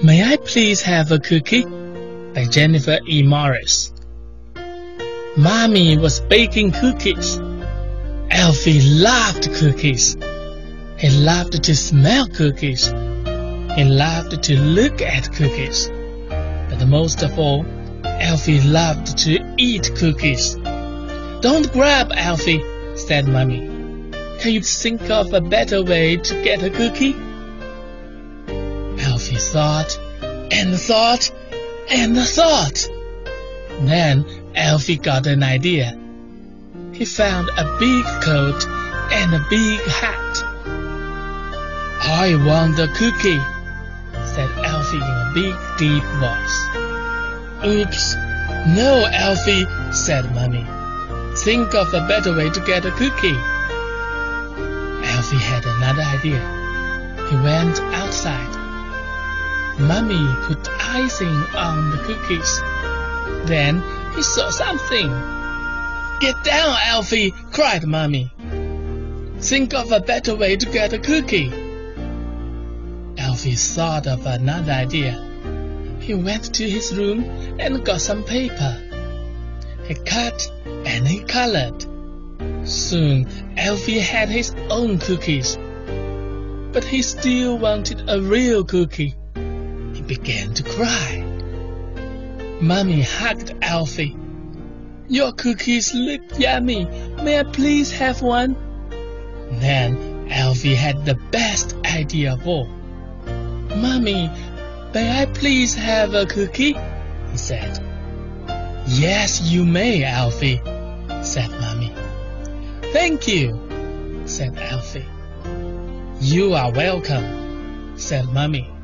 May I please have a cookie? By Jennifer E. Morris. Mommy was baking cookies. Alfie loved cookies. He loved to smell cookies. He loved to look at cookies. But most of all, Alfie loved to eat cookies. Don't grab, Alfie, said Mommy. Can you think of a better way to get a cookie? Alfie thought and thought and thought. Then Alfie got an idea. He found a big coat and a big hat. I want a cookie, said Alfie in a big, deep voice. Oops. No, Alfie, said Mommy. Think of a better way to get a cookie. Alfie had another idea. He went outside. Mommy put icing on the cookies. Then he saw something. Get down, Alfie, cried Mommy. Think of a better way to get a cookie. Alfie thought of another idea. He went to his room and got some paper. He cut and he colored. Soon Alfie had his own cookies. But he still wanted a real cookie. He began to cry. Mommy hugged Alfie. Your cookies look yummy. May I please have one? Then Alfie had the best idea of all. Mommy, may I please have a cookie? He said. Yes, you may, Alfie, said Mommy. Thank you, said Alfie. You are welcome, said Mommy.